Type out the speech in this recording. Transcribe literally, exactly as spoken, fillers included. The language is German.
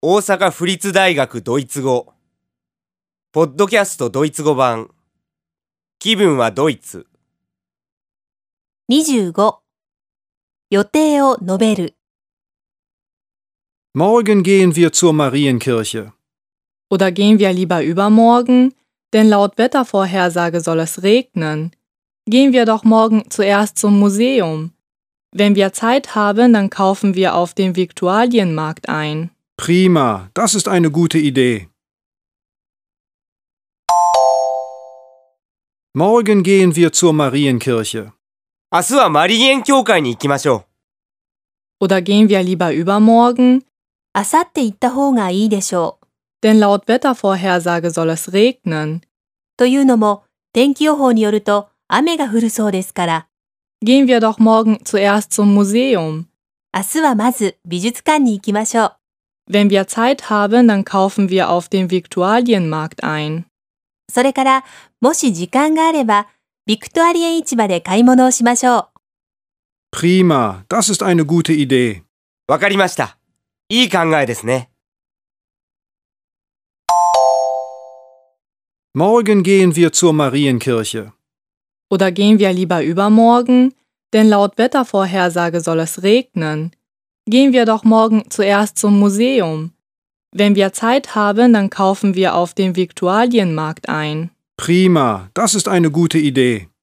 大阪府立大学ドイツ語ポッドキャストドイツ語版気分はドイツにじゅうご予定を述べる Morgen gehen wir zur Marienkirche. Oder gehen wir lieber übermorgen, denn laut Wettervorhersage soll es regnen. Gehen wir doch morgen zuerst zum Museum. Wenn wir Zeit haben, dann kaufen wir auf dem Viktualienmarkt ein. Prima, das ist eine gute Idee. Morgen gehen wir zur Marienkirche. 明日はマリエン教会に行きましょう。 Oder gehen wir lieber übermorgen, あさって行った方がいいでしょう。 denn laut Wettervorhersage soll es regnen. というのも、天気予報によると雨が降るそうですから。 Gehen wir doch morgen zuerst zum Museum. 明日はまず美術館に行きましょう。 Wenn wir Zeit haben, dann kaufen wir auf dem Viktualienmarkt ein. それから、もし時間があれば、ビクトアリエン市場で買い物をしましょう。 Prima, das ist eine gute Idee. わかりました。いい考えですね。 Morgen gehen wir zur Marienkirche. Oder gehen wir lieber übermorgen, denn laut Wettervorhersage soll es regnen. Gehen wir doch morgen zuerst zum Museum. Wenn wir Zeit haben, dann kaufen wir auf dem Viktualienmarkt ein. Prima, das ist eine gute Idee.